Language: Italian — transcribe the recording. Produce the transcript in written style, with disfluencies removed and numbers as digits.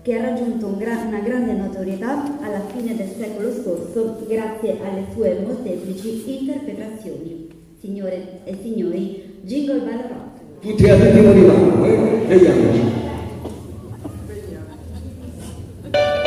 che ha raggiunto una grande notorietà alla fine del secolo scorso grazie alle sue molteplici interpretazioni. Signore e signori, Jingle Bell Rock. Tutti all'ultimo di mano, vediamoci.